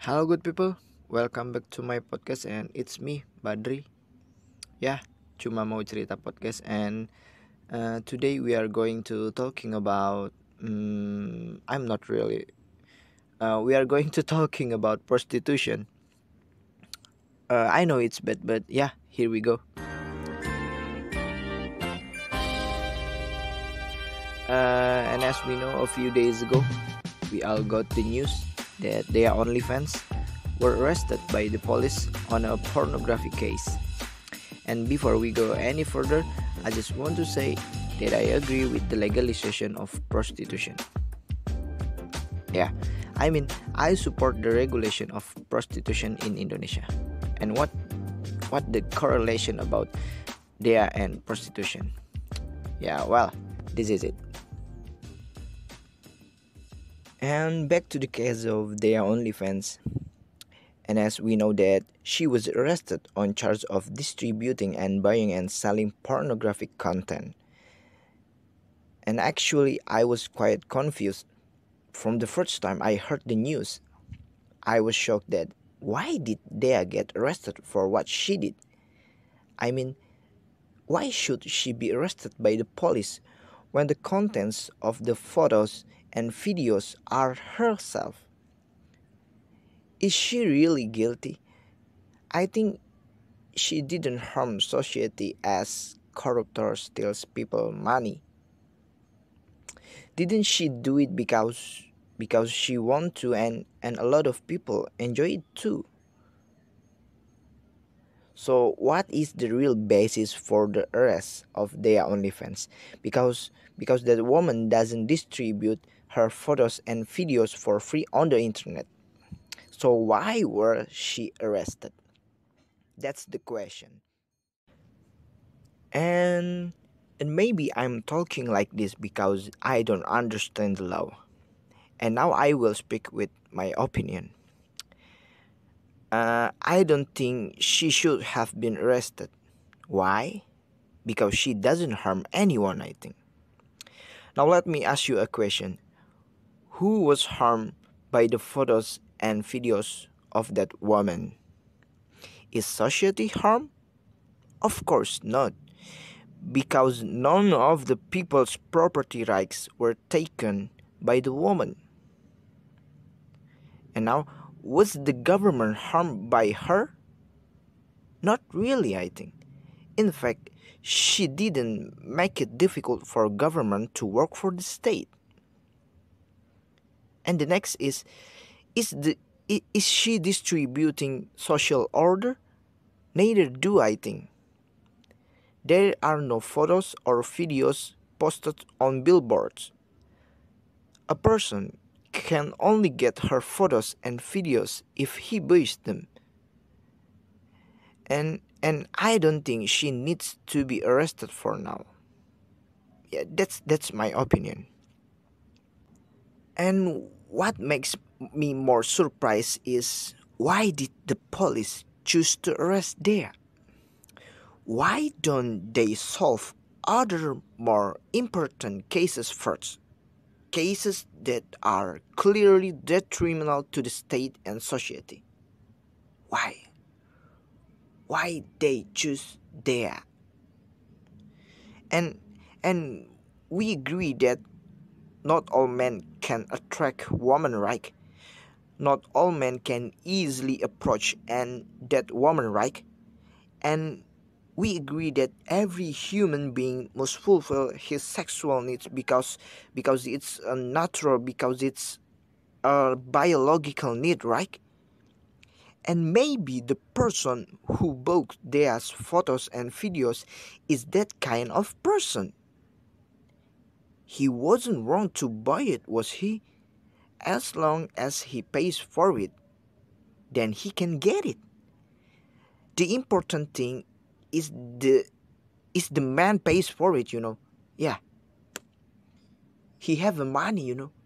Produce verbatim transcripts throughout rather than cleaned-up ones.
Halo good people, welcome back to my podcast and it's me Badri. Ya, cuma mau cerita podcast and uh, today we are going to talking about mm, I'm not really uh, we are going to talking about prostitution. Uh, I know it's bad, but yeah, here we go. Uh, and as we know, a few days ago, we all got the news that their OnlyFans were arrested by the police on a pornography case. And before we go any further, I just want to say that I agree with the legalization of prostitution. Yeah, I mean, I support the regulation of prostitution in Indonesia. And what what the correlation about there and prostitution? Yeah, well, this is it. And back to the case of their OnlyFans. And as we know that she was arrested on charge of distributing and buying and selling pornographic content. And actually I was quite confused from the first time I heard the news. I was shocked that why did Dea get arrested for what she did? I mean, why should she be arrested by the police when the contents of the photos and videos are herself? Is she really guilty? I think she didn't harm society as corruptor steals people money. Didn't she do it because because she want to and and a lot of people enjoy it too? So what is the real basis for the arrest of their OnlyFans? Because because that woman doesn't distribute her photos and videos for free on the internet. So why were she arrested? That's the question. And and maybe I'm talking like this because I don't understand the law. And now I will speak with my opinion. Uh, I don't think she should have been arrested. Why? Because she doesn't harm anyone, I think. Now let me ask you a question. Who was harmed by the photos and videos of that woman? Is society harmed? Of course not, because none of the people's property rights were taken by the woman. And now, was the government harmed by her? Not really, I think. In fact, she didn't make it difficult for government to work for the state. And the next is is the is she distributing social order? Neither do I think. There are no photos or videos posted on billboards. A person can only get her photos and videos if he buys them. And and I don't think she needs to be arrested for now. Yeah, that's that's my opinion. And what makes me more surprised is why did the police choose to arrest there? Why don't they solve other more important cases first? Cases that are clearly detrimental to the state and society. Why? Why they choose there? And and we agree that not all men can attract women, right? Not all men can easily approach and that woman, right? And we agree that every human being must fulfill his sexual needs because because it's a natural, because it's a biological need, right? And maybe the person who bought their photos and videos is that kind of person. He wasn't wrong to buy it, was he? As long as he pays for it, then he can get it. The important thing is the is the man pays for it, you know. Yeah. He have the money, you know.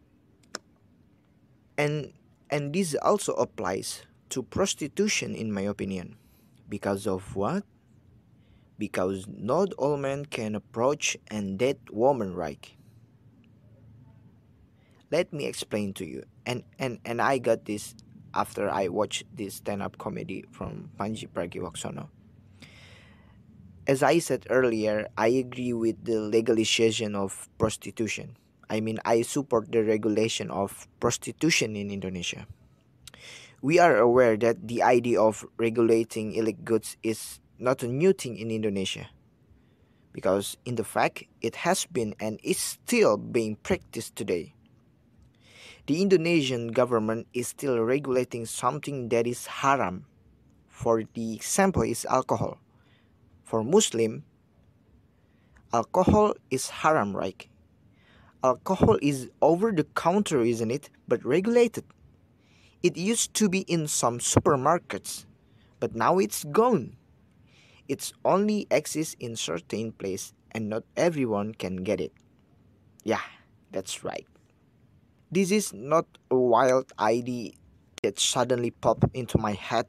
And and this also applies to prostitution in my opinion. Because of what? Because not all men can approach and date woman, right? Let me explain to you. And and and I got this after I watched this stand-up comedy from Panji Pragiwaksono. As I said earlier, I agree with the legalization of prostitution. I mean, I support the regulation of prostitution in Indonesia. We are aware that the idea of regulating illicit goods is not a new thing in Indonesia, because in the fact it has been and is still being practiced today. The Indonesian government is still regulating something that is haram. For the example is alcohol. For Muslim, alcohol is haram, right? Alcohol is over the counter, isn't it? But regulated. It used to be in some supermarkets, but now it's gone. It's only exists in certain place and not everyone can get it. Yeah, that's right. This is not a wild idea that suddenly popped into my head,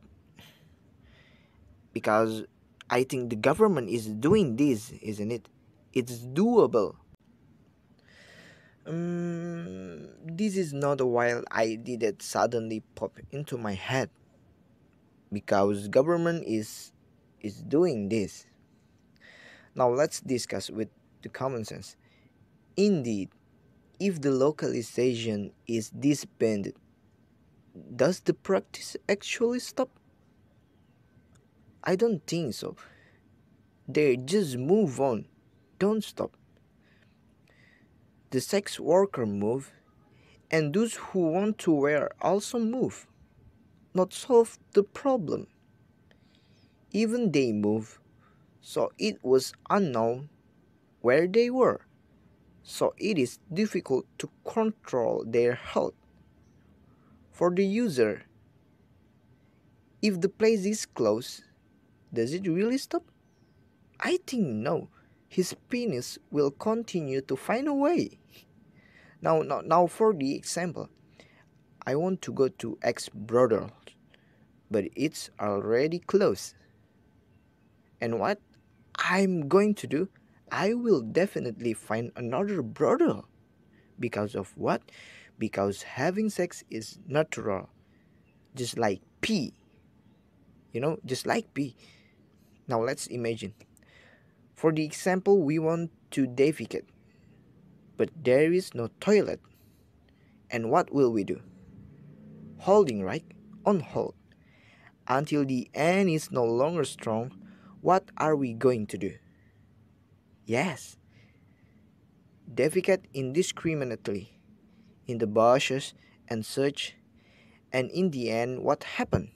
because I think the government is doing this, isn't it? It's doable. Um, this is not a wild idea that suddenly popped into my head, because government is is doing this. Now let's discuss with the common sense. Indeed, if the localization is disbanded, does the practice actually stop? I don't think so. They just move on, don't stop. The sex worker move, and those who want to wear also move. Not solve the problem. Even they move, so it was unknown where they were. So it is difficult to control their health. For the user, if the place is closed, does it really stop? I think no. His penis will continue to find a way. Now, now, now for the example, I want to go to X brothel, but it's already closed. And what I'm going to do? I will definitely find another brothel. Because of what? Because having sex is natural. Just like pee. You know, just like pee. Now let's imagine. For the example, we want to defecate, but there is no toilet. And what will we do? Holding, right? On hold. Until the end is no longer strong, what are we going to do? Yes, defecate indiscriminately in the bushes and such, and in the end, what happened?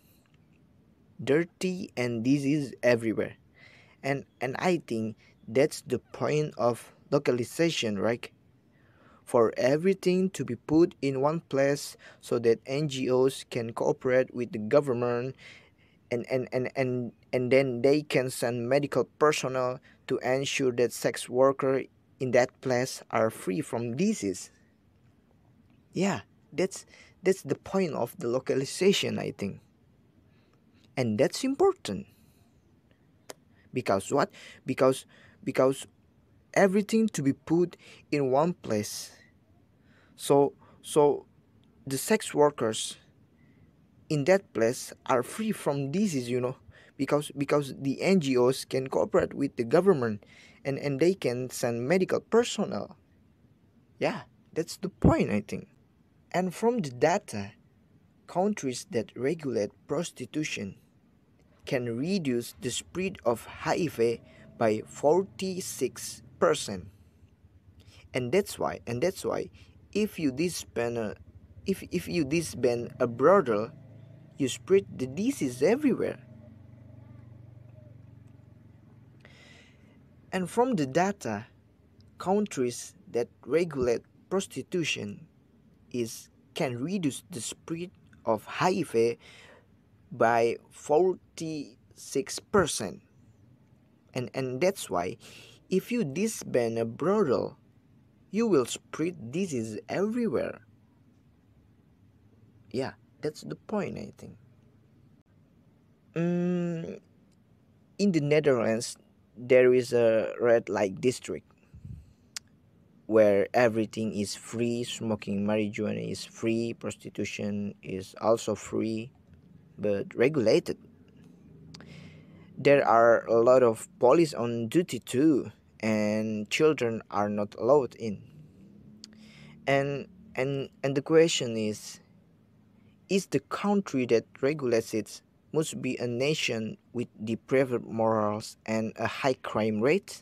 Dirty and disease everywhere. And and I think that's the point of localization, right? For everything to be put in one place so that N G Os can cooperate with the government, and and, and, and, and then they can send medical personnel to ensure that sex workers in that place are free from disease. Yeah, that's that's the point of the localization, I think. And that's important. Because what? Because because everything to be put in one place. So so the sex workers in that place are free from disease, you know, because because the N G Os can cooperate with the government, and and they can send medical personnel. Yeah, that's the point, I think. And from the data, countries that regulate prostitution can reduce the spread of H I V by forty-six percent. And that's why and that's why if you disband a, if if you disband a brothel, you spread the disease everywhere. And from the data, countries that regulate prostitution is can reduce the spread of H I V by forty-six percent. And and that's why if you disband a brothel, you will spread disease everywhere. Yeah, that's the point, I think. Mm, in the Netherlands, there is a red light district. where everything is free, smoking marijuana is free, prostitution is also free, but regulated. There are a lot of police on duty too, and children are not allowed in. And and and the question is is the country that regulates it must be a nation with depraved morals and a high crime rate?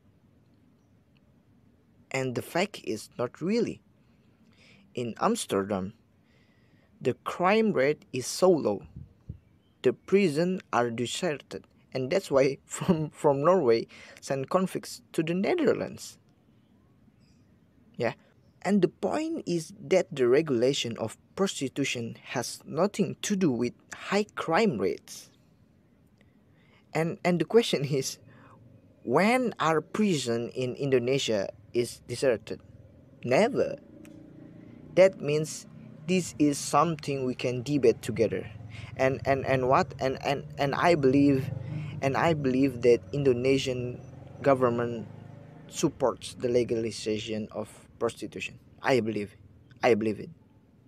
And the fact is not really. In Amsterdam, the crime rate is so low. The prisons are deserted, and that's why from from Norway send convicts to the Netherlands. Yeah. And the point is that the regulation of prostitution has nothing to do with high crime rates. And and the question is, when our prison in Indonesia is deserted? Never. That means this is something we can debate together. And and and what and and and I believe and I believe that Indonesian government supports the legalization of prostitution. I believe. I believe it.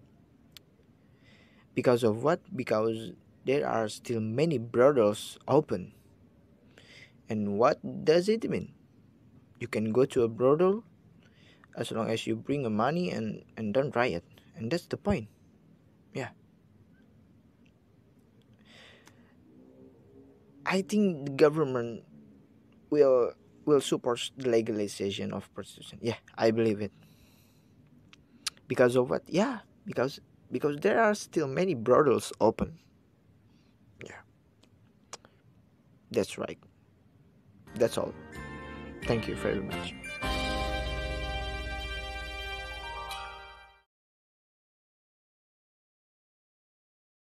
Because of what? Because there are still many brothels open. And what does it mean? You can go to a brothel as long as you bring a money and, and don't riot. And that's the point. Yeah. I think the government will will support the legalization of prostitution. Yeah, I believe it. Because of what? Yeah, because because there are still many brothels open. Yeah, that's right. That's all. Thank you very much.